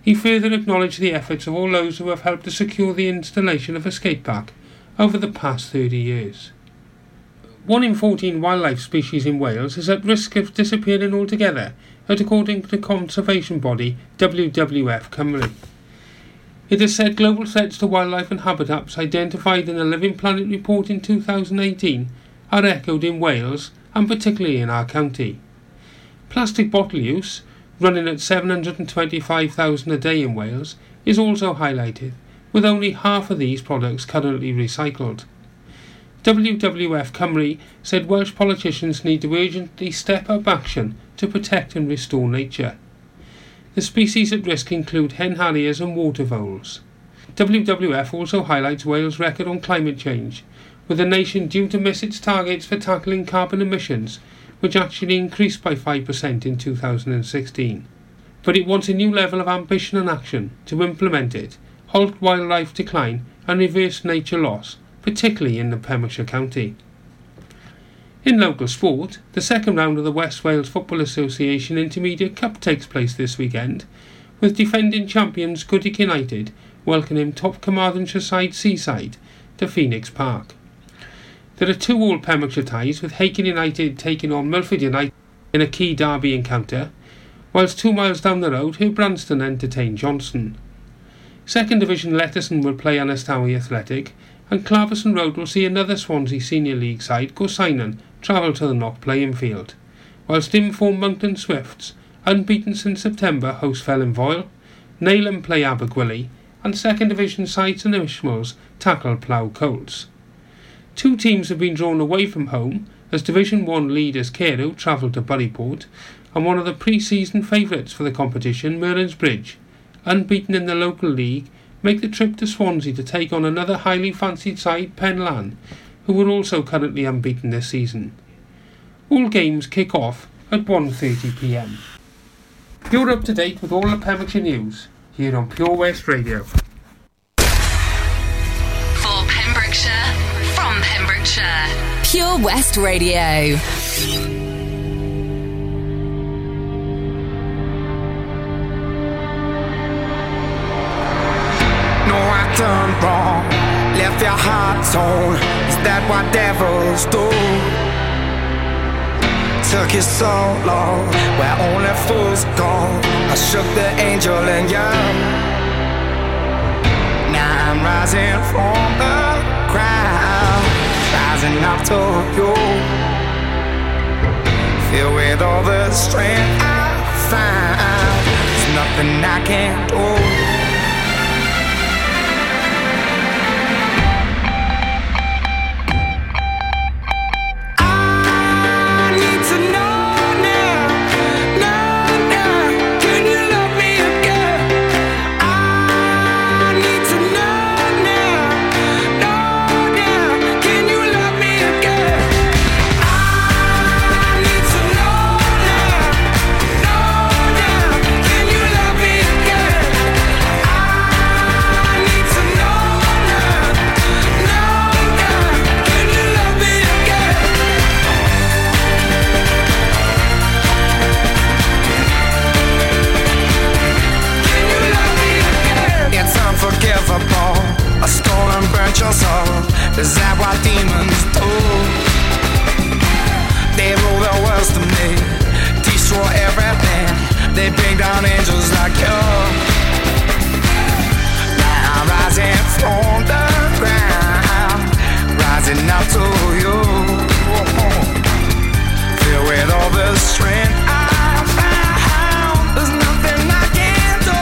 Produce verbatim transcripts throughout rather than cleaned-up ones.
He further acknowledged the efforts of all those who have helped to secure the installation of a skate park over the past thirty years. One in fourteen wildlife species in Wales is at risk of disappearing altogether, according to the conservation body W W F Cymru. It has said global threats to wildlife and habitats identified in the Living Planet report in two thousand eighteen are echoed in Wales and particularly in our county. Plastic bottle use, running at seven hundred twenty-five thousand a day in Wales, is also highlighted, with only half of these products currently recycled. W W F Cymru said Welsh politicians need to urgently step up action to protect and restore nature. The species at risk include hen harriers and water voles. W W F also highlights Wales' record on climate change, with the nation due to miss its targets for tackling carbon emissions, which actually increased by five percent in two thousand sixteen. But it wants a new level of ambition and action to implement it, halt wildlife decline and reverse nature loss, particularly in the Pembrokeshire County. In local sport, the second round of the West Wales Football Association Intermediate Cup takes place this weekend, with defending champions Goodwick United welcoming top Carmarthenshire side Seaside to Phoenix Park. There are two all Pembrokeshire ties, with Hakin United taking on Milford United in a key derby encounter, whilst two miles down the road Hugh Branston entertain Johnston. Second Division Letterson will play Aberystwyth Athletic, and Claverson Road will see another Swansea Senior League side, Gorseinon, travel to the Knock playing field, whilst in-form Monkton Swifts, unbeaten since September, host Fellinfoyle, Neyland play Abergwili, and Second Division side St Ishmael's tackle Plough Colts. Two teams have been drawn away from home, as Division one leaders Carew travel to Buryport, and one of the pre-season favourites for the competition, Merlin's Bridge, unbeaten in the local league, make the trip to Swansea to take on another highly fancied side, Penlan, who are also currently unbeaten this season. All games kick off at one thirty p m. You're up to date with all the Pembrokeshire news here on Pure West Radio. For Pembrokeshire, from Pembrokeshire, Pure West Radio. Done wrong, left your heart torn. Is that what devils do? Took you so long, where only fools go. I shook the angel in you. Now I'm rising from the ground, rising up to you. Filled with all the strength I found, there's nothing I can't do. I stole and burnt your soul. Is that what demons do? They rule the world to me, destroy everything. They bring down angels like you. Now I'm rising from the ground, rising up to you. Filled with all the strength I found, there's nothing I can't do.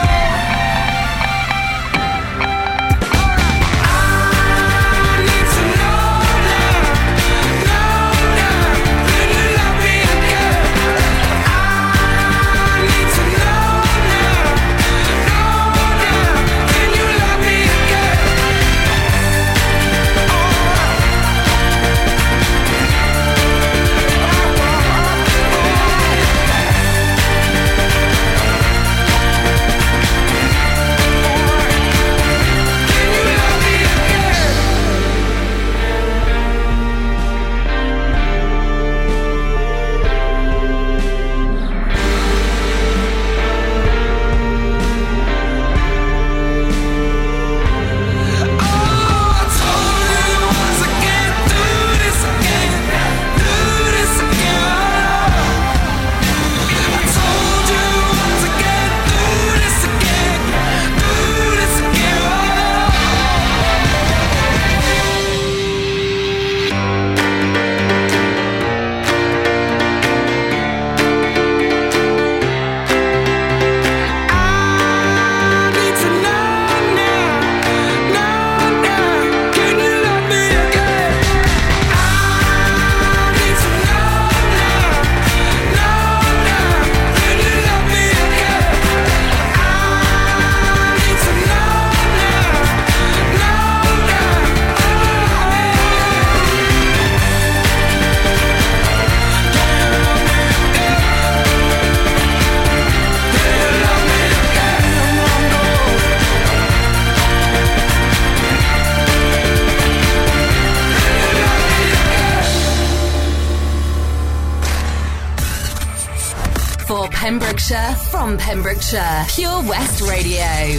Pembrokeshire, from Pembrokeshire, Pure West Radio.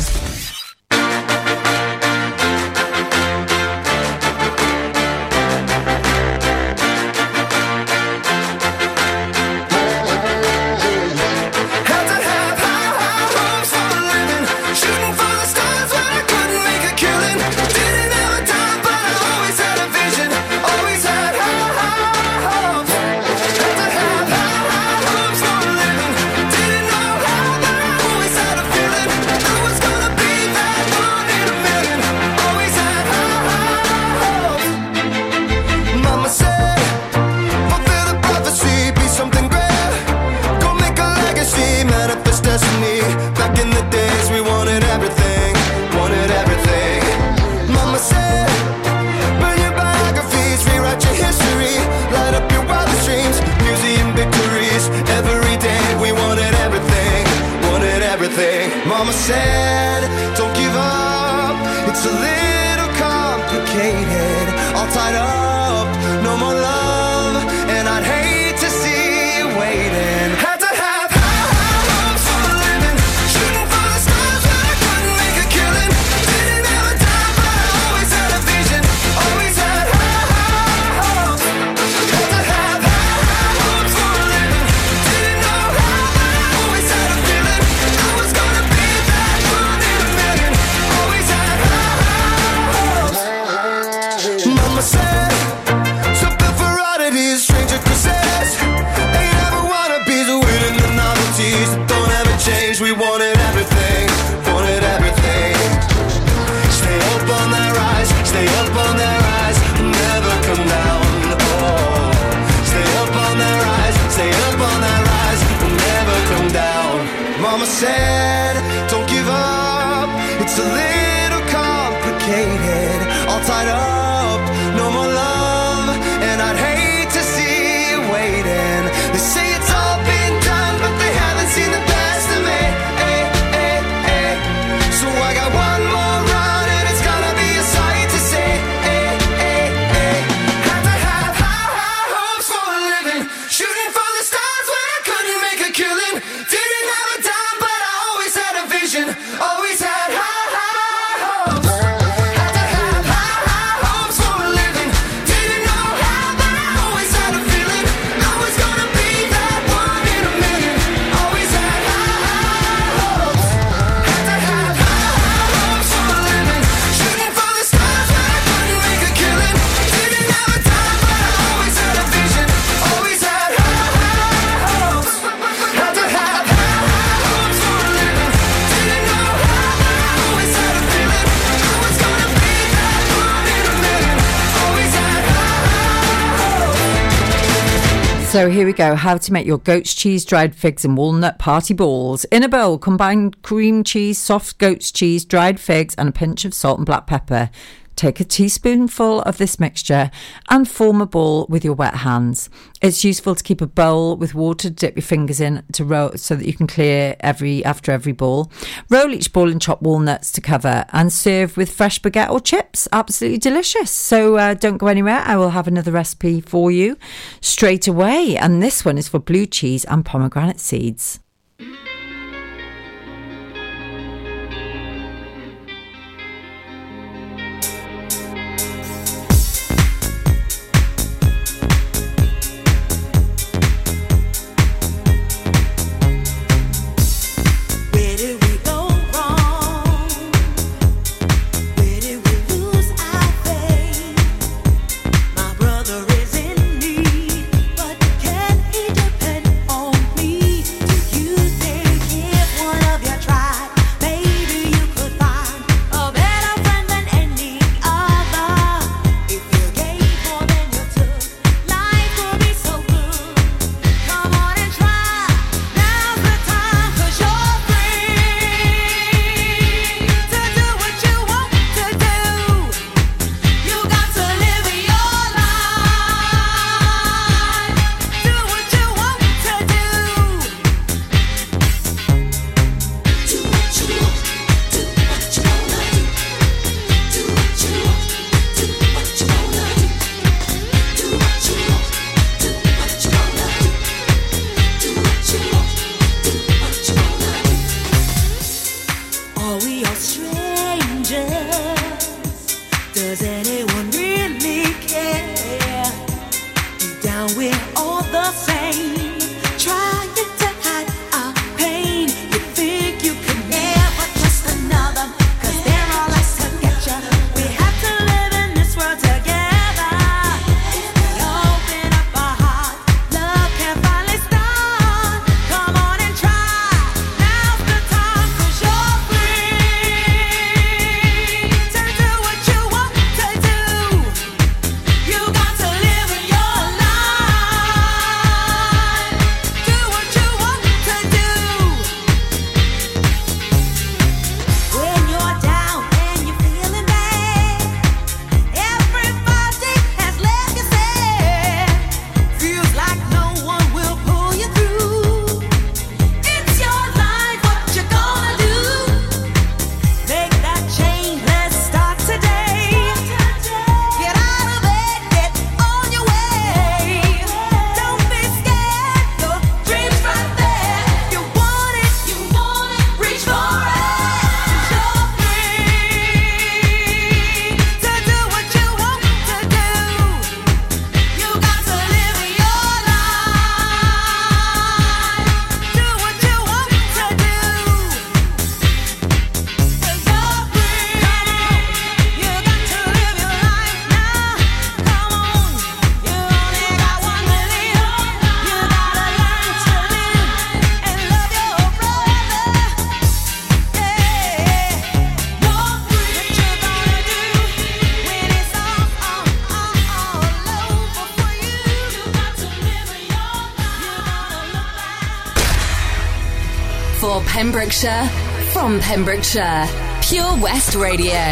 Mama said, don't give up, it's a little complicated, all tied up, no more love, and I'd hate to see you waiting. Had to have high, high hopes for a living, shooting for the stars but I couldn't make a killing, didn't have a dime but I always had a vision, always had high, high hopes. Had to have high, high hopes for a living, didn't know how but I always had a feeling I was gonna be that one in a million, always had high, high hopes. Mama said, something for oddities, stranger kisses, ain't ever wannabes, waiting the novelties that don't ever change. We wanted everything, wanted everything. Stay up on that rise, stay up on that rise, never come down. Oh, stay up on that rise, stay up on that rise, never come down. Mama said, don't give up, it's a little complicated, all tied up, no more love, and I'd hate to see you waiting. They say it's all been done, but they haven't seen the best of me. Eh, eh, eh. So I got one more run, and it's gonna be a sight to see. Eh, eh, eh. Had to have high, high hopes for a living, shooting for the stars when I couldn't make a killing. Didn't have a dime, but I always had a vision, always had high, high hopes. Had to have high, high hopes for a living, didn't know how, but I always had a feeling I was gonna be that one in a million, always had high, high hopes. Had to have high, high hopes for a living, shooting for the stars when I couldn't make a killing. Didn't have a dime, but I always had a vision, always had high, high hopes. Had to have high, high hopes for a living, didn't know how, but I always had a feeling I was gonna be that one in a million, always had high, high hopes. So here we go. How to make your goat's cheese, dried figs and walnut party balls. In a bowl, combine cream cheese, soft goat's cheese, dried figs and a pinch of salt and black pepper. Take a teaspoonful of this mixture and form a ball with your wet hands. It's useful to keep a bowl with water to dip your fingers in to roll so that you can clear every after every ball. Roll each ball in chopped walnuts to cover and serve with fresh baguette or chips. Absolutely delicious. So uh, don't go anywhere. I will have another recipe for you straight away. And this one is for blue cheese and pomegranate seeds. Where did we go wrong? Where did we lose our faith? My brother is in need, but can he depend on me? Do you think Are we all strangers? Does anyone really care? Deep down we're all the same, trying to hide our pain. You think you can never trust another, 'cause they're all out to get you. We have to live in this world together. Open up our heart, love can finally start. Come on and try, now's the time, 'cause you're free to do what you want to do. You got to live your life, do what you want to do. When you're down and you're feeling bad, everybody has left you sad. Feels like no one will pull you through. It's your life, what you gonna do? Make that change, let's start today. Get out of bed, get on your way. Don't be scared, your dream's right there. You want it, you want it, reach for it. You're free to do what you want to do. You got to live your life, do what you want to do. 'Cause you're free, you got to live your life now. Come on, you only got one to live. You gotta learn to live and love your brother. Yeah, you're free. What you gonna do when it's all, all, all, all over for you? You got to live your life. You gotta look back. For Pembrokeshire, from Pembrokeshire, Pure West Radio.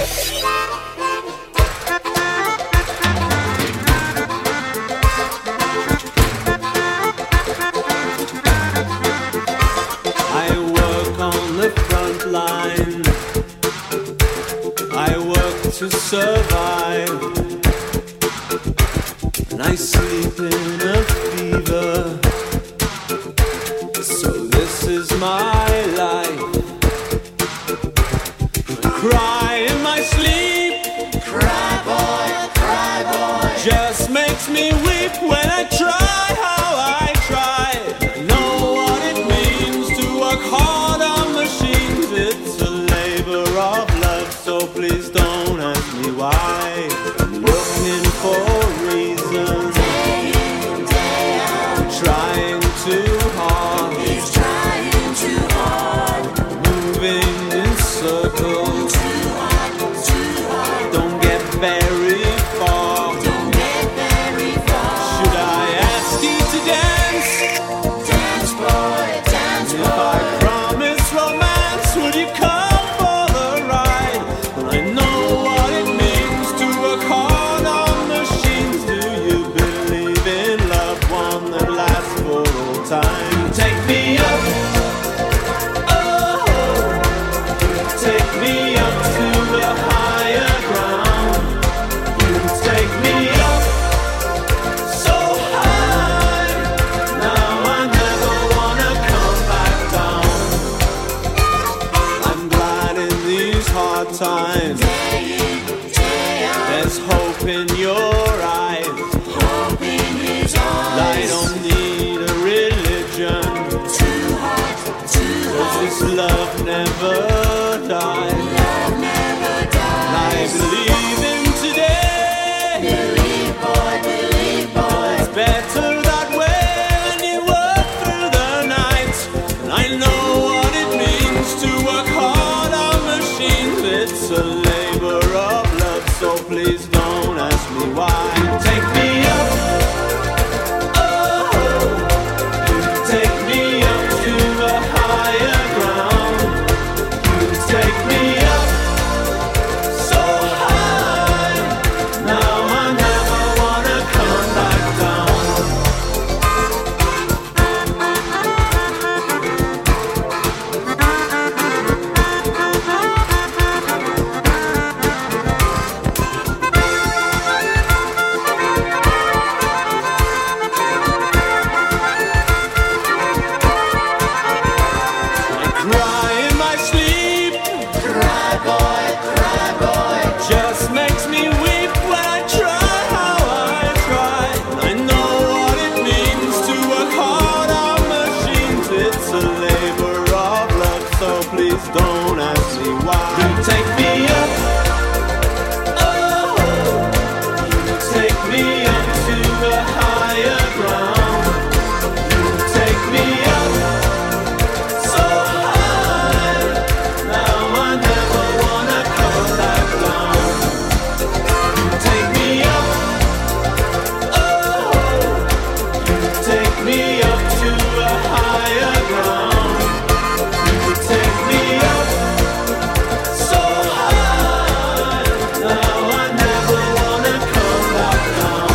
I work on the front line. I work to survive. And I sleep in a fever. So this is my life. I cry in my sleep. Cry boy, cry boy. Just makes me weep when I try how I try. I know what it means to work hard on machines. It's a labor of love, so please don't ask me why. I'm looking for reasons. Trying too hard. He's trying too hard. Moving in circles. Too hard, too hard. Don't get very far. Don't get very far. Should I ask you to dance? Dance boy, dance boy. If I promise romance, would you come for the ride? I know what it means to work hard on machines. Do you believe in love, one that lasts for all time? Take me up, oh, take me up to a higher ground. You take me up so high. Now I never wanna come back down. I'm glad in these hard times. There's hope in your eyes. I don't need a religion. Cause this love never dies. I believe in today. It's better that way when you work through the night. And I know what it means to work hard on machines. It's a labor of love, so please don't ask me why. Take me up, oh, take me up to a higher ground. You take me up so high. Now I never wanna come back down. don't ask me why. You take me up, oh, you take me up to a higher ground. You take me up so high, now I never wanna come back down. You take me up, oh, you take me up to a higher ground. You take me up so high, now I never wanna come back down.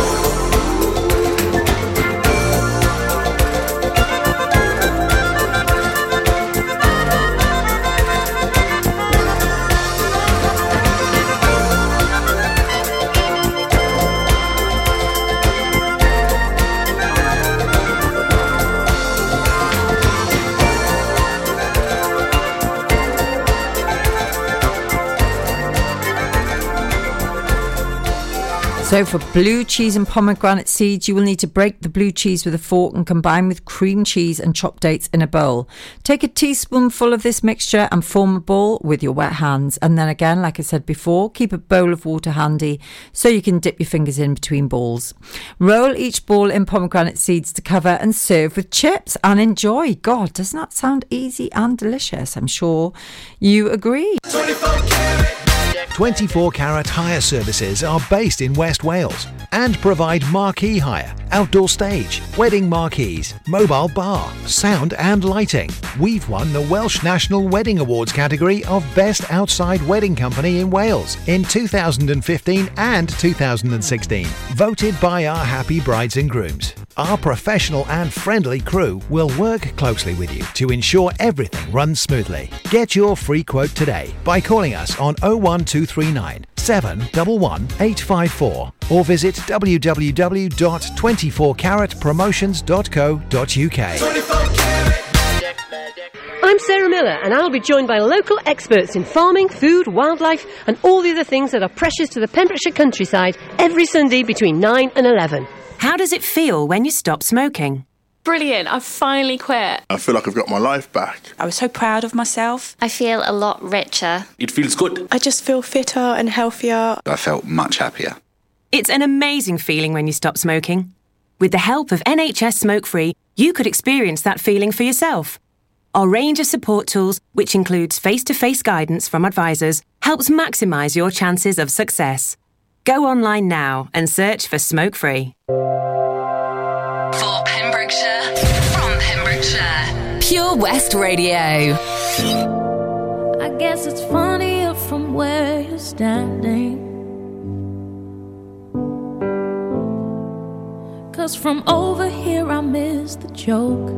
So for blue cheese and pomegranate seeds, you will need to break the blue cheese with a fork and combine with cream cheese and chopped dates in a bowl. Take a teaspoonful of this mixture and form a ball with your wet hands. And then again, like I said before, keep a bowl of water handy so you can dip your fingers in between balls. Roll each ball in pomegranate seeds to cover and serve with chips and enjoy. God, doesn't that sound easy and delicious? I'm sure you agree. twenty-four carat hire services are based in West Wales and provide marquee hire, outdoor stage, wedding marquees, mobile bar, sound and lighting. We've won the Welsh National Wedding Awards category of Best Outside Wedding Company in Wales in two thousand fifteen and two thousand sixteen, voted by our happy brides and grooms. Our professional and friendly crew will work closely with you to ensure everything runs smoothly. Get your free quote today by calling us on oh one two three nine, seven one one, eight five four or visit w w w dot twenty-four carat promotions dot co dot u k. I'm Sarah Miller, and I'll be joined by local experts in farming, food, wildlife and all the other things that are precious to the Pembrokeshire countryside every Sunday between nine and eleven. How does it feel when you stop smoking? Brilliant, I've finally quit. I feel like I've got my life back. I was so proud of myself. I feel a lot richer. It feels good. I just feel fitter and healthier. I felt much happier. It's an amazing feeling when you stop smoking. With the help of N H S Smoke Free, you could experience that feeling for yourself. Our range of support tools, which includes face-to-face guidance from advisors, helps maximise your chances of success. Go online now and search for Smoke Free. For Pembrokeshire, from Pembrokeshire, Pure West Radio. I guess it's funnier from where you're standing, 'cause from over here I miss the joke.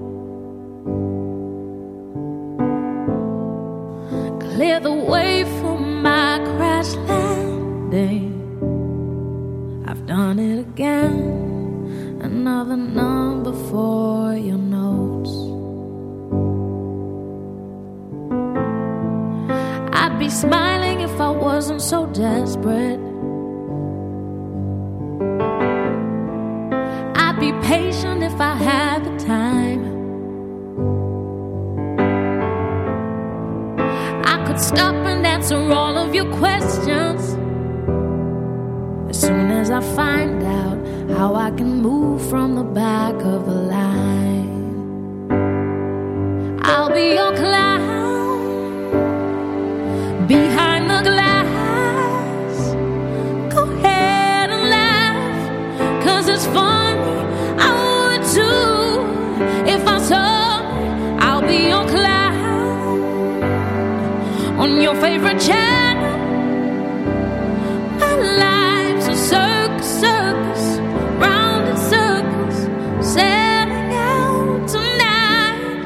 Clear the way for my crash landing. I've done it again. Another number for your notes. I'd be smiling if I wasn't so desperate. I'd be patient if I had the time. I could stop and answer all of your questions as soon as I find out how I can move from the back of the line. I'll be your clown behind the glass. Go ahead and laugh, 'cause it's funny, I would too. If I saw me, I'll be your clown on your favorite channel. My life's a circus, circus, round in circles, setting out tonight.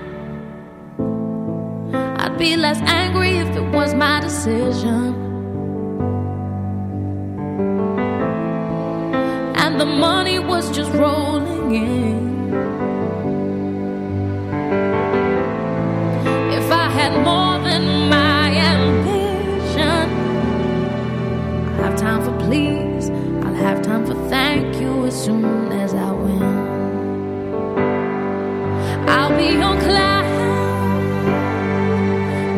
I'd be less angry if it was my decision, and the money was just rolling in. If I had more than my ambition, I'll have time for please, I'll have time for thank you as soon as I win. I'll be your clown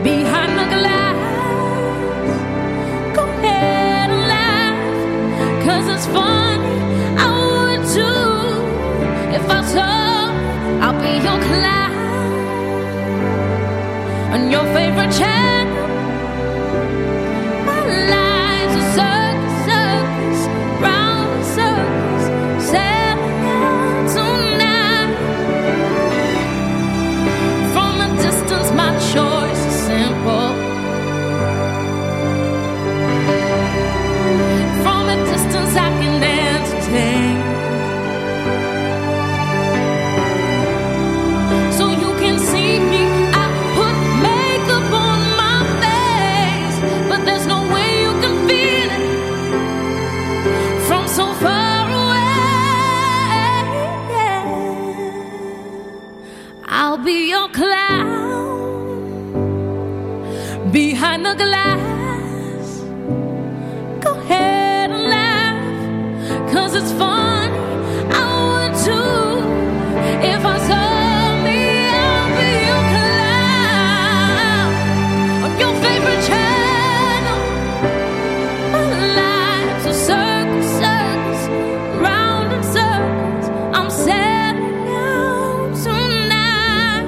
behind the glass. Go ahead and laugh, 'cause it's funny. I would too if I saw me. I'll be your clown on your favorite channel. My life's a circus, circus, round in circles. I'm setting out tonight.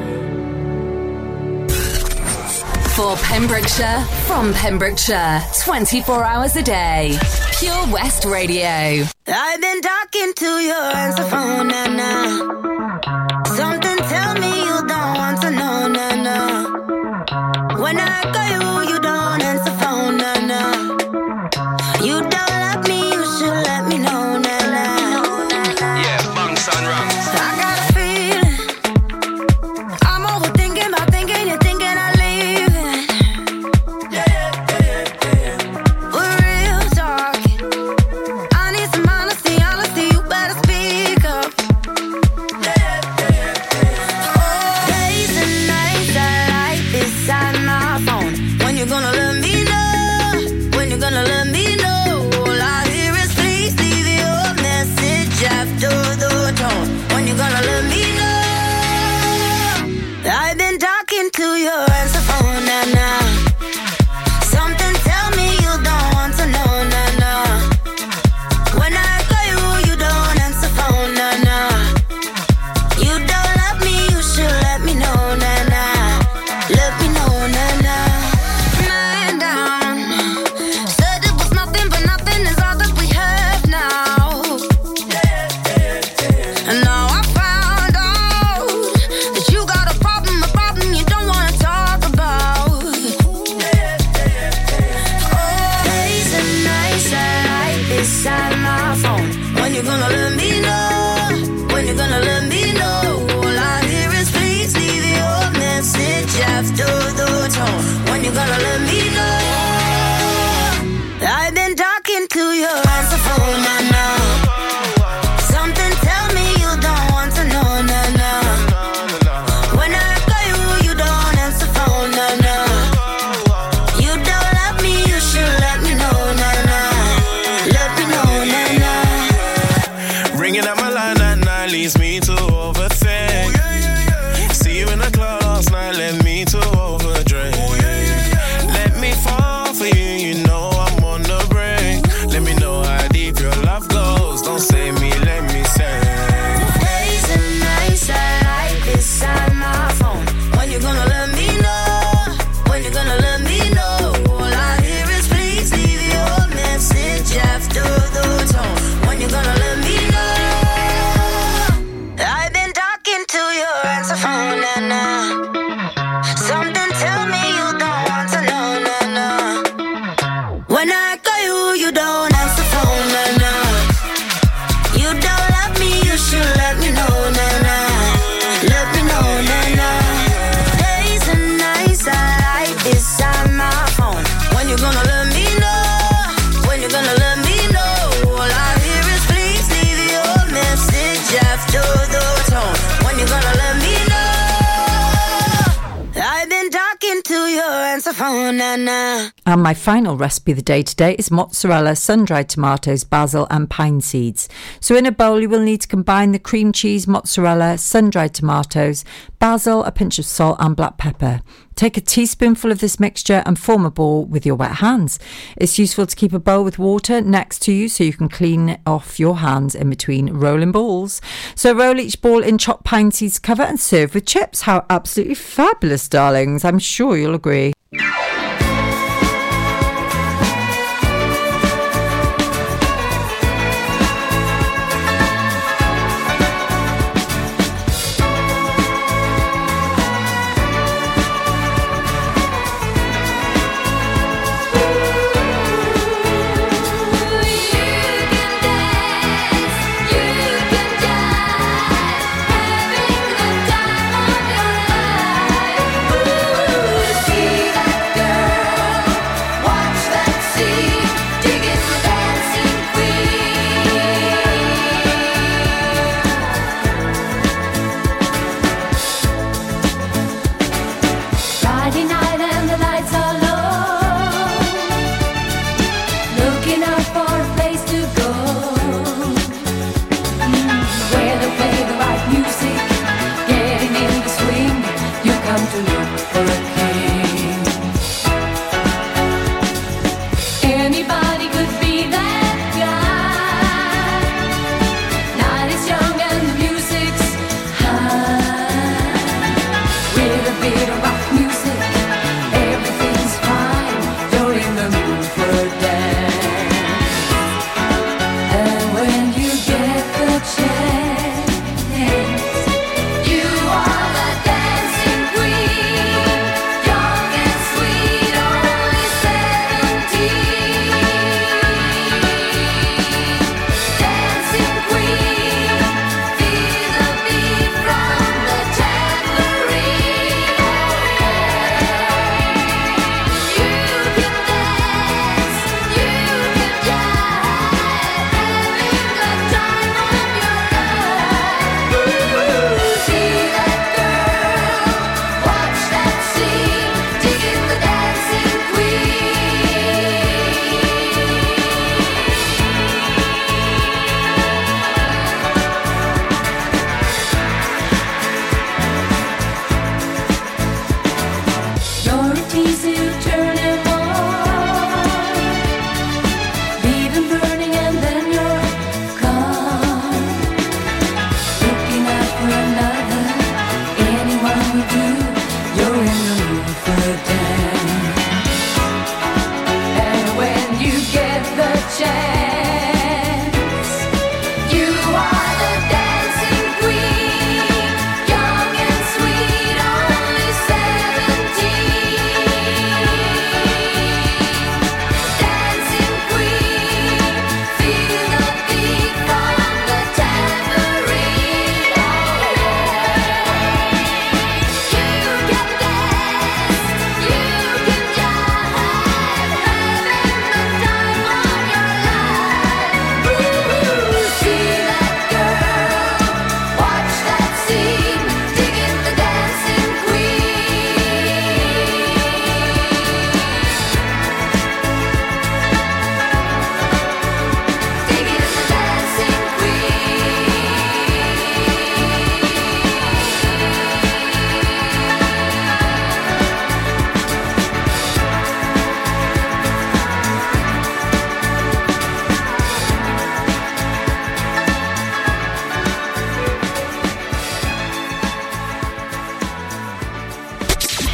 For Pembrokeshire, from Pembrokeshire, twenty-four hours a day. Pure West Radio. I've been talking to your answer phone, nah, nah. Something tell me you don't want to know, nah, nah. When I call you, you don't answer phone, nah, nah. You don't love me, you should let me know, nah, nah. Yeah, bunks and rums. I got a feeling I'm overthinking about thinking and thinking I leave it. For real talk, I need some honesty, honesty, you better speak up. Oh, days and nights I like beside my phone. When you gonna let me know? When you gonna let me know? All I hear is please leave your message after the tone. When you gonna let me know? I've been talking to your answer phone, nah, nah. Something tell me you don't want to know, nah, nah. When I call you, you don't answer phone, nah, nah. You don't love me, you should let me know, nah, nah. Let me know, nah, nah. Man down, said it was nothing, but nothing is all that we have now. And now I found out that you got a problem, a problem you don't wanna talk about. Oh, days and nights I like beside my phone. When you gonna let me know? When you gonna let me know? All I hear is please leave your message after the tone. When you gonna let me know? I've been talking to your answer phone, nah, nah. Something tell me you don't want to know, nah, nah. When I call you, you don't answer phone, nah, nah. You don't love me, you should let me know, nah, nah. Let me know, nah, nah. Ringing up my line at night leads me to overthink. See you in the club last night, led me to overdrink. Let me fall for you, you know I'm on the brink. Let me know how deep your love goes. Don't save me, let me sing. Days and nights I like beside my phone. When you gonna let me know? When you gonna let me know? All I hear is please leave your message after the tone. When you gonna let me know? I've been talking to your answer phone, nah, nah. Something tell me you don't want to know, nah, nah. When I call you, you don't answer phone, nah, nah. You don't love me, you should let me know, nah, nah. Let me know, nah, nah. Days and nights I like beside my phone. When you gonna let me know? When you gonna let me know? All I hear is please leave your message after the tone. When you gonna let me know? I've been talking to your answer phone, nah, nah. And my final recipe of the day today is mozzarella, sun-dried tomatoes, basil and pine seeds. So in a bowl you will need to combine the cream cheese, mozzarella, sun-dried tomatoes, basil, a pinch of salt and black pepper. Take a teaspoonful of this mixture and form a ball with your wet hands. It's useful to keep a bowl with water next to you so you can clean off your hands in between rolling balls. So roll each ball in chopped pine seeds cover and serve with chips. How absolutely fabulous, darlings. I'm sure you'll agree. You can dance, you can die, having the time of your life. Ooh, see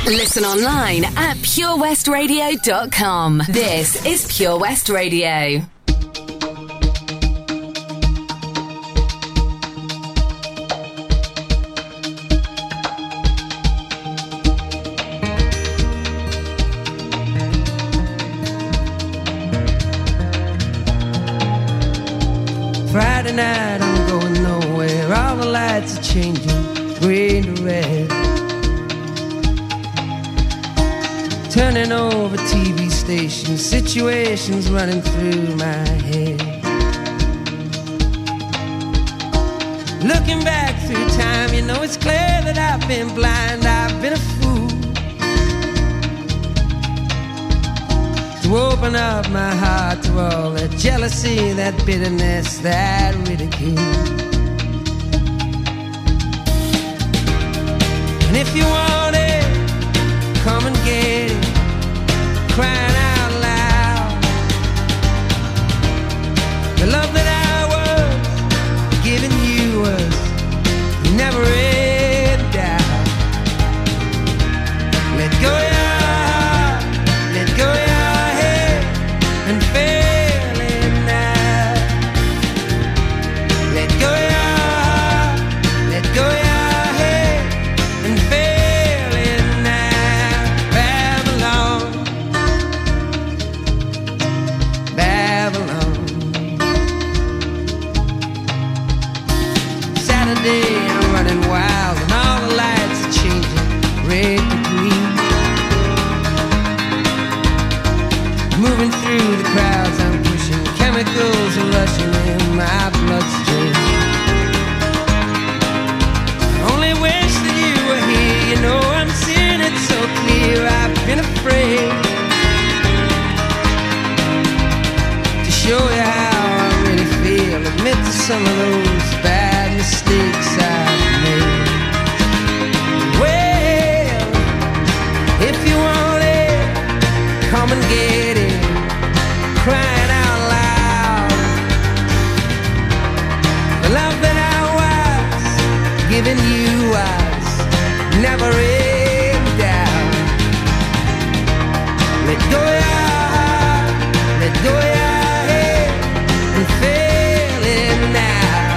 Listen online at pure west radio dot com. This is Pure West Radio. Friday night, I'm going nowhere. All the lights are changing, green to red. Turning over T V stations, situations running through my head. Looking back through time, you know it's clear that I've been blind, I've been a fool to open up my heart to all that jealousy, that bitterness, that ridicule. And if you want it, come and get it, crying out loud. The love that I was giving you was never in doubt. Let go your heart, let go your head, and feel it now. Let go your heart, let go your head, and feel it now. Babylon, Babylon. Saturday, I'm running wild, and all the lights are changing red to green. Moving through the crowds, I'm pushing chemicals are rushing in my bloodstream. I only wish that you were here, you know I'm seeing it so clear. I've been afraid to show you how I really feel, admit to some of those bad mistakes I've made. Well, if you want it, come and get it, crying out loud. The love that I was giving you was never in doubt. Let go your heart, let go your head, and feel it now.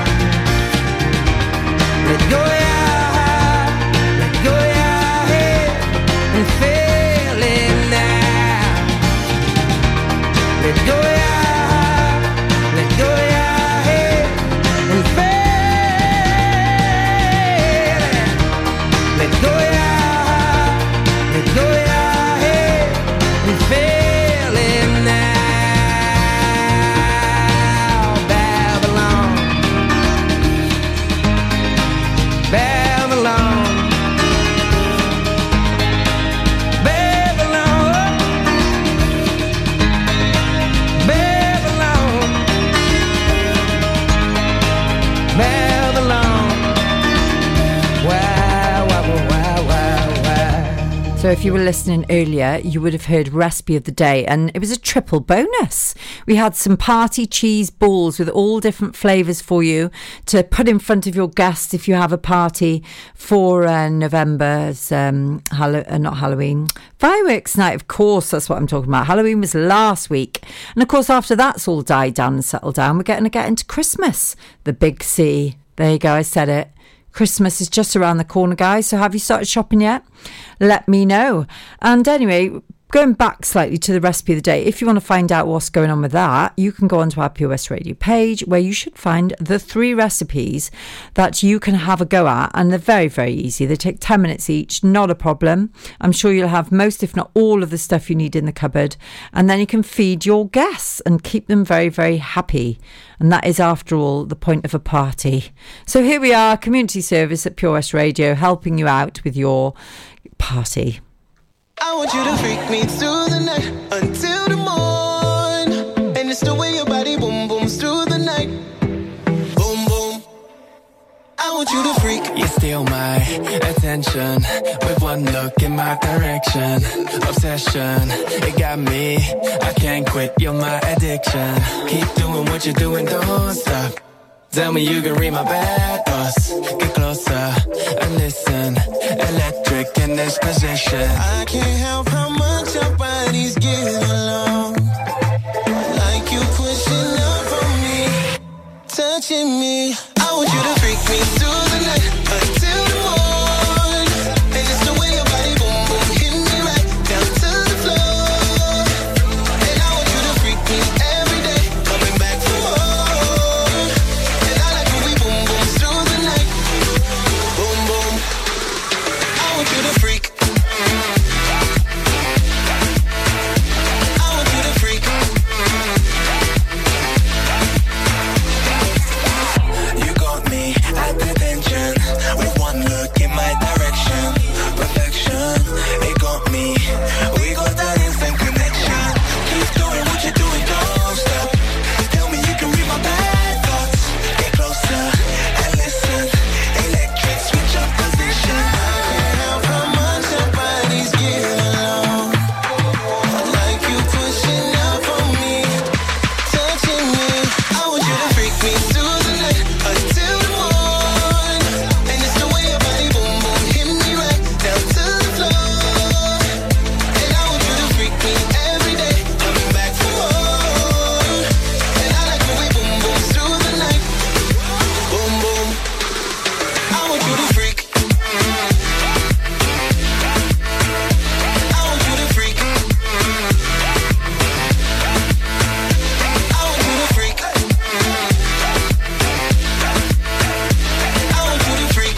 Let go your heart, let go your head, and feel it now. Let go your heart, let go your head, and feel it. Let go your heart, let go your head, and feel it now. Babylon, Babylon, Babylon, Babylon, Babylon. Wow, wow, wow, wow, wow. So if you were listening earlier, you would have heard Recipe of the Day, and it was a triple bonus. We had some party cheese balls with all different flavours for you to put in front of your guests if you have a party for uh, November's, um, Hallow- uh, not Halloween, fireworks night, of course, that's what I'm talking about. Halloween was last week. And of course, after that's all died down and settled down, we're getting to get into Christmas, the big C. There you go, I said it. Christmas is just around the corner, guys, so have you started shopping yet? Let me know. And anyway, going back slightly to the recipe of the day, if you want to find out what's going on with that, you can go onto our Pure West Radio page, where you should find the three recipes that you can have a go at, and they're very, very easy. They take ten minutes each, not a problem. I'm sure you'll have most, if not all, of the stuff you need in the cupboard, and then you can feed your guests and keep them very, very happy. And that is, after all, the point of a party. So here we are, community service at Pure West Radio, helping you out with your party. I want you to freak me through the night until the morn. And it's the way your body boom booms through the night. Boom boom. I want you to freak. You steal my attention with one look in my direction. Obsession, it got me. I can't quit, you're my addiction. Keep doing what you're doing, don't stop. Tell me you can read my bad thoughts. Get closer and listen. Electric in this position. I can't help how much your body's getting along. Like you pushing up on me, touching me. I want you to freak me through the night until the morning. And it's the way your body boom boom hit me right down to the floor. And I want you to freak me every day, coming back for more. And I like when we boom boom through the night. Boom boom. I want you to freak. I want you to freak. You got me at attention with one look in my direction. Perfection, it got me. We got that instant connection. Keep doing what you're doing, don't stop. Tell me you can read my bad thoughts. Get closer and listen. Electric, switch up position. I can't help how much your body's getting along. Like you pushing up on me, touching me. I want you to freak me through the night until the morning. And it's the way your body boom boom hit me right down to the floor. And I want you to freak me every day, coming back for more. And I like when we boom boom through the night. Boom boom. I want you to freak. I want you to freak. I want you to freak. I want you to freak.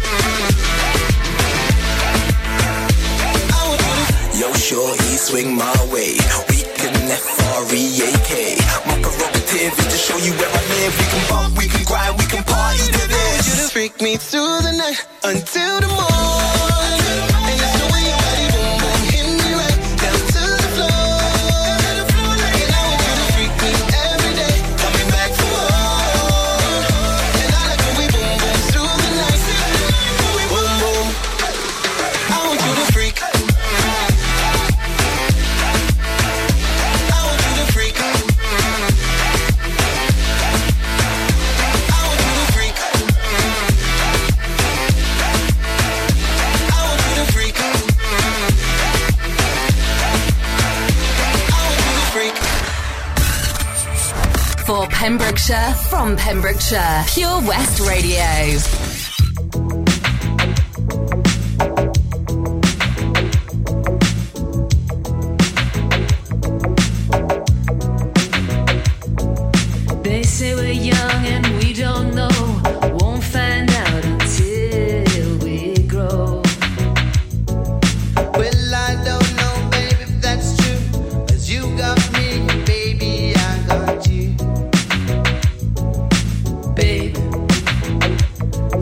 I want you to. Yo, shorty, swing my way. We can F R E A K. My prerogative is to show you where I live. We can bump, we can grind, we can party to this. I want you to freak me through the night until the morning. And it's the way your body boom boom hit me right down to the floor. And I want you to freak me every day, coming back for more. And I like when we boom boom through the night. Boom boom. I want you to freak. I want you to freak. I want you to freak. I want you to freak. For Pembrokeshire, from Pembrokeshire, Pure West Radio. They say we're young and we don't know. Won't find out until we grow. Well, I don't know, baby, if that's true. 'Cause you got me, baby, I got you. Babe,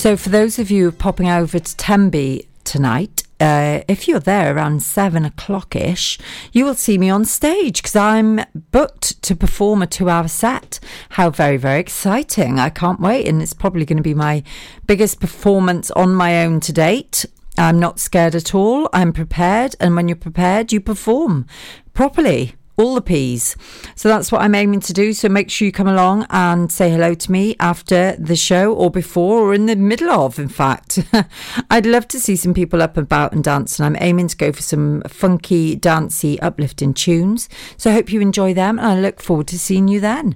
So for those of you popping over to Tenby tonight, uh, if you're there around seven o'clock-ish, you will see me on stage because I'm booked to perform a two-hour set. How very, very exciting. I can't wait, and it's probably going to be my biggest performance on my own to date. I'm not scared at all. I'm prepared, and when you're prepared, you perform properly. All the P's. So that's what I'm aiming to do. So make sure you come along and say hello to me after the show, or before, or in the middle of, in fact. I'd love to see some people up and about and dance, and I'm aiming to go for some funky, dancey, uplifting tunes. So I hope you enjoy them, and I look forward to seeing you then.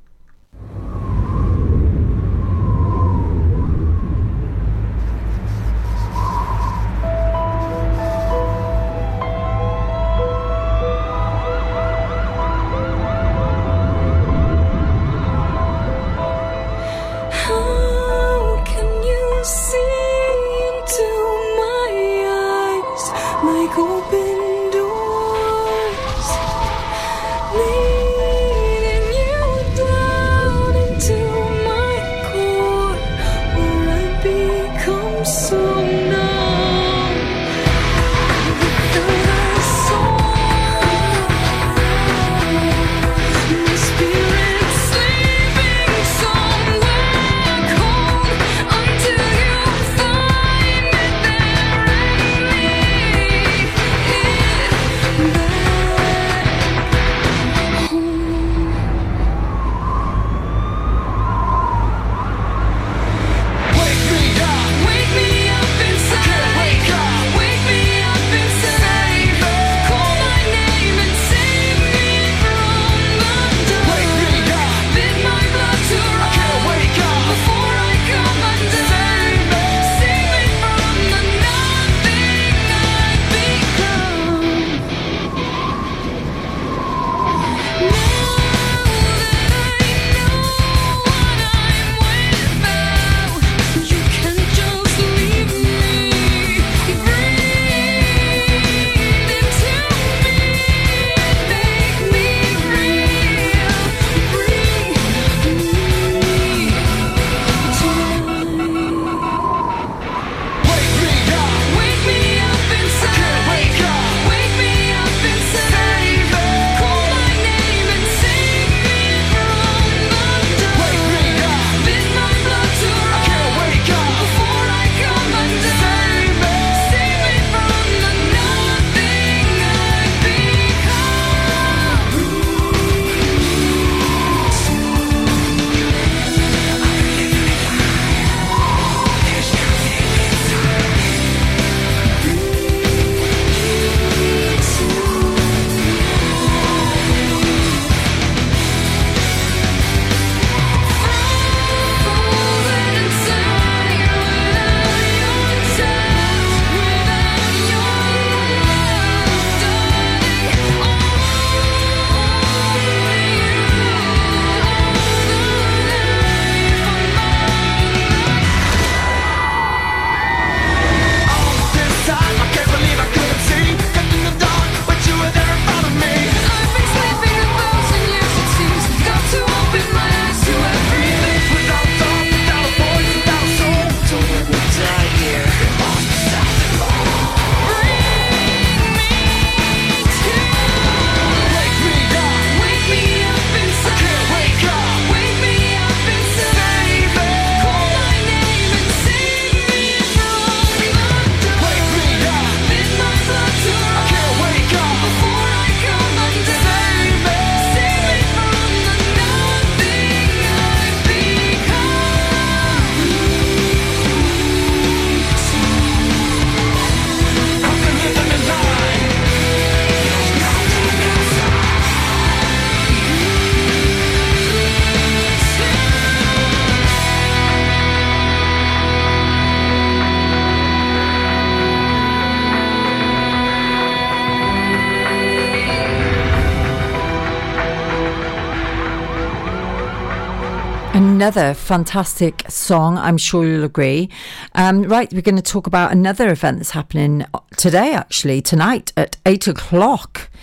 Another fantastic song, I'm sure you'll agree. Um, right, we're going to talk about another event that's happening today, actually, tonight at eight o'clock.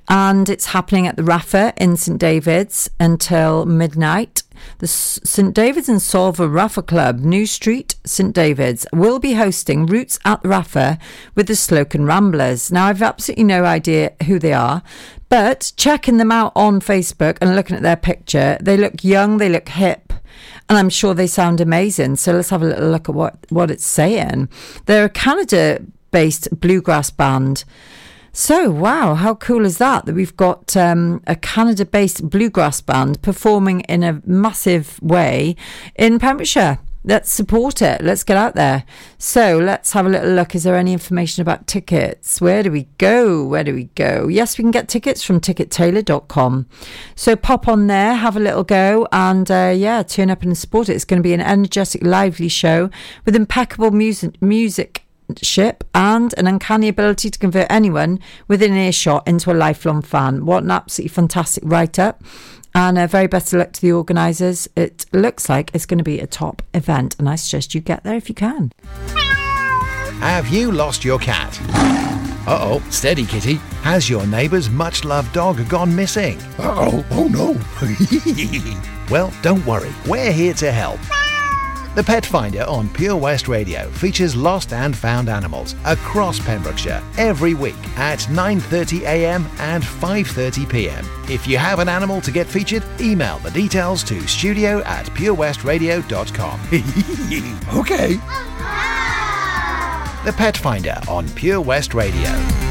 and it's happening at the Raffa in St David's until midnight. The St David's and Solva Raffa Club, New Street, St David's, will be hosting Roots at the Raffa with the Slocan Ramblers. Now, I've absolutely no idea who they are, but checking them out on Facebook and looking at their picture, they look young, they look hip, and I'm sure they sound amazing. So let's have a little look at what, what it's saying. They're a Canada-based bluegrass band. So, wow, how cool is that, that we've got um, a Canada-based bluegrass band performing in a massive way in Pembrokeshire. Let's support it. Let's get out there. So, let's have a little look. Is there any information about tickets? Where do we go? Where do we go? Yes, we can get tickets from ticket tailor dot com. So, pop on there, have a little go, and, uh, yeah, turn up and support it. It's going to be an energetic, lively show with impeccable music music. ship and an uncanny ability to convert anyone within earshot into a lifelong fan. What an absolutely fantastic write-up, and a very best of luck to the organisers. It looks like it's going to be a top event, and I suggest you get there if you can. Have you lost your cat? Uh-oh, steady kitty. Has your neighbour's much-loved dog gone missing? Uh-oh, oh no. Well, don't worry, we're here to help. The Pet Finder on Pure West Radio features lost and found animals across Pembrokeshire every week at nine thirty a m and five thirty p m. If you have an animal to get featured, email the details to studio at pure west radio dot com. Okay. The Pet Finder on Pure West Radio.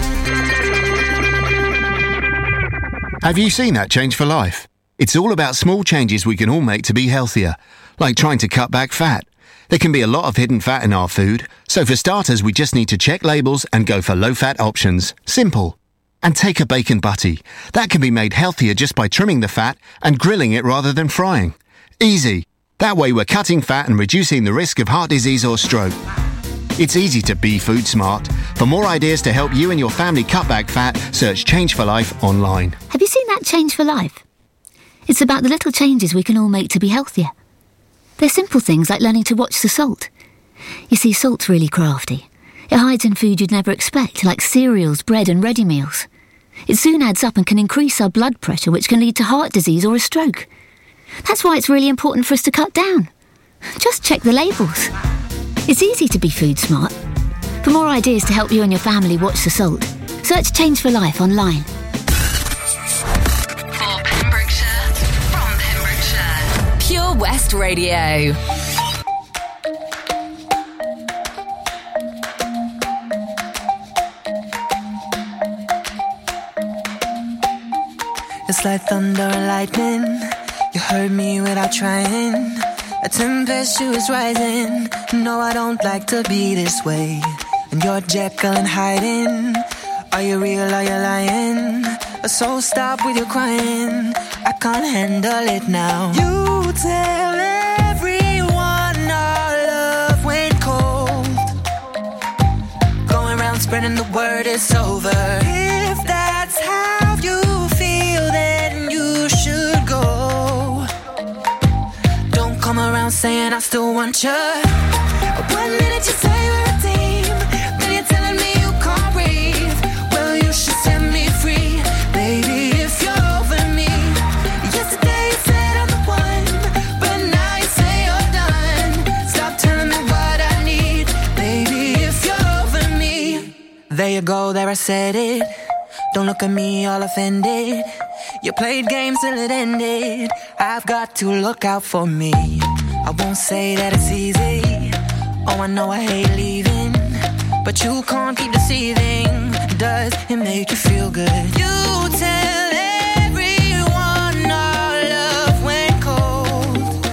Have you seen that Change for Life? It's all about small changes we can all make to be healthier, like trying to cut back fat. There can be a lot of hidden fat in our food, so for starters we just need to check labels and go for low-fat options. Simple. And take a bacon butty. That can be made healthier just by trimming the fat and grilling it rather than frying. Easy. That way we're cutting fat and reducing the risk of heart disease or stroke. It's easy to be food smart. For more ideas to help you and your family cut back fat, search Change for Life online. Have you seen that Change for Life? It's about the little changes we can all make to be healthier. They're simple things like learning to watch the salt. You see, salt's really crafty. It hides in food you'd never expect, like cereals, bread and ready meals. It soon adds up and can increase our blood pressure, which can lead to heart disease or a stroke. That's why it's really important for us to cut down. Just check the labels. It's easy to be food smart. For more ideas to help you and your family watch the salt, search Change for Life online. Pure West Radio. It's like thunder and lightning. You heard me without trying. A tempestuous rising. No, I don't like to be this way. And you're Jekyll and hiding. Are you real, are you lying? So stop with your crying. I can't handle it now. You tell everyone our love went cold. Going around spreading the word it's over. If that's how you feel, then you should go. Don't come around saying I still want you. One minute you say we're a team, then you're telling me you can't breathe. Well, you should set me free, baby, if you're over me. Yesterday you said I'm the one, but now you say you're done. Stop telling me what I need, baby, if you're over me. There you go, there I said it. Don't look at me all offended. You played games till it ended. I've got to look out for me. I won't say that it's easy. Oh, I know I hate leaving, but you can't keep deceiving. Does it make you feel good? You tell everyone our love went cold.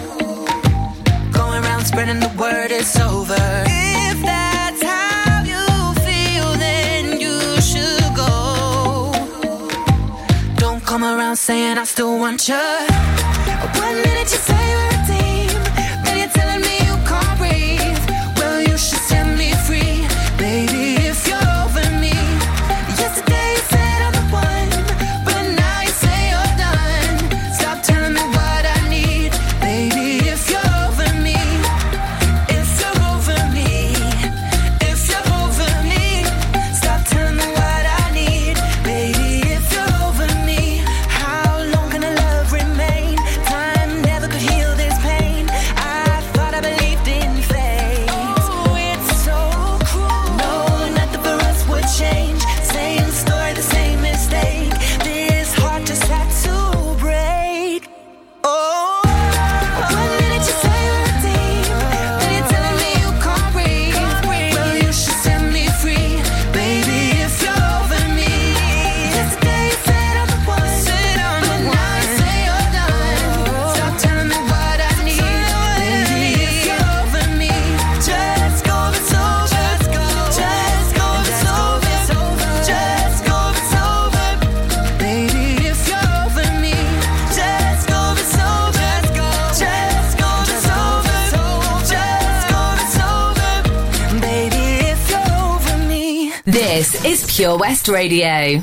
Going around spreading the word it's over. If that's how you feel, then you should go. Don't come around saying I still want you. One minute you say we're a team, then you're telling me you can't breathe. Well, you should set me free, baby, if you're over me. Yesterday you said I'm the one, but now you say you're done. Stop telling me what I need, baby, if you're over me. If you're over me, if you're over me. Stop telling me what I need, baby, if you're over This is Pure West Radio.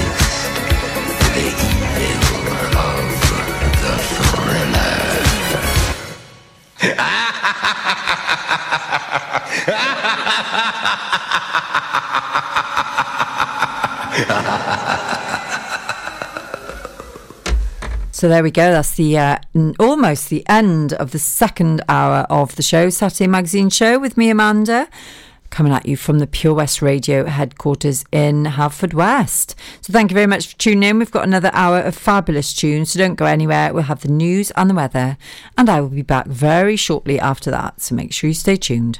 The evil of the thriller. So there we go. That's the uh, n- almost the end of the second hour of the show, Saturday Magazine Show with me, Amanda, coming at you from the Pure West Radio headquarters in Haverfordwest. So thank you very much for tuning in. We've got another hour of fabulous tunes, so don't go anywhere. We'll have the news and the weather, and I will be back very shortly after that. So make sure you stay tuned.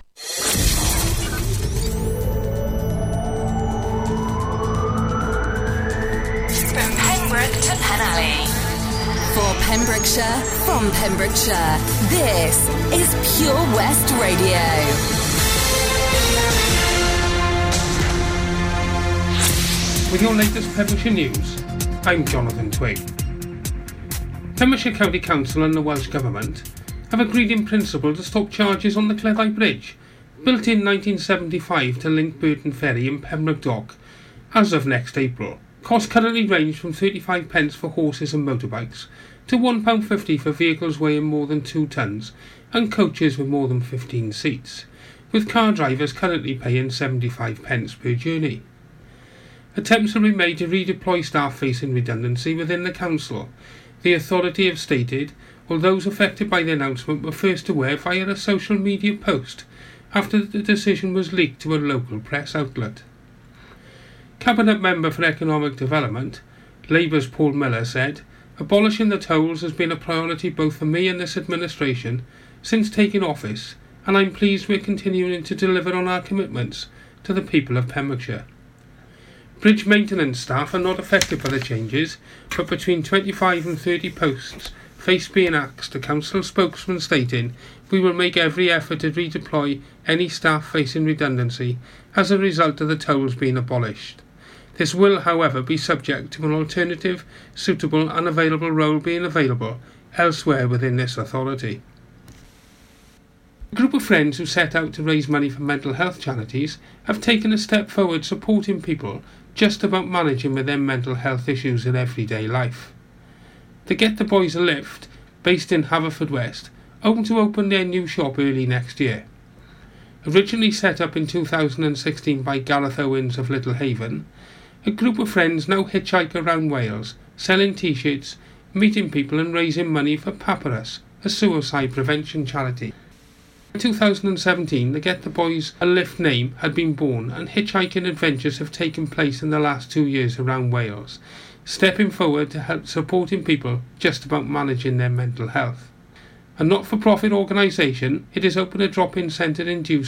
From Pembroke to Penally. For Pembrokeshire, from Pembrokeshire, this is Pure West Radio. With your latest Pembrokeshire news, I'm Jonathan Twig. Pembrokeshire County Council and the Welsh Government have agreed in principle to stop charges on the Cleddau Bridge, built in nineteen seventy-five to link Burton Ferry and Pembroke Dock, as of next April. Costs currently range from thirty-five pence for horses and motorbikes to one pound fifty for vehicles weighing more than two tonnes and coaches with more than fifteen seats, with car drivers currently paying seventy-five pence per journey. Attempts have been made to redeploy staff facing redundancy within the council. The authority have stated, while those affected by the announcement were first aware via a social media post after the decision was leaked to a local press outlet. Cabinet Member for Economic Development, Labour's Paul Miller, said, "Abolishing the tolls has been a priority both for me and this administration since taking office, and I'm pleased we're continuing to deliver on our commitments to the people of Pembrokeshire." Bridge maintenance staff are not affected by the changes, but between twenty-five and thirty posts face being axed, a council spokesman stating, "We will make every effort to redeploy any staff facing redundancy as a result of the tolls being abolished. This will, however, be subject to an alternative, suitable and available role being available elsewhere within this authority." A group of friends who set out to raise money for mental health charities have taken a step forward supporting people just about managing with their mental health issues in everyday life. The Get the Boys a Lift, based in Haverfordwest, hoping to open their new shop early next year. Originally set up in two thousand sixteen by Gareth Owens of Little Haven, a group of friends now hitchhike around Wales, selling t-shirts, meeting people and raising money for Papyrus, a suicide prevention charity. In two thousand seventeen, the Get the Boys a Lift name had been born, and hitchhiking adventures have taken place in the last two years around Wales, stepping forward to help supporting people just about managing their mental health. A not-for-profit organisation, it is open a drop-in centre in Dewsbury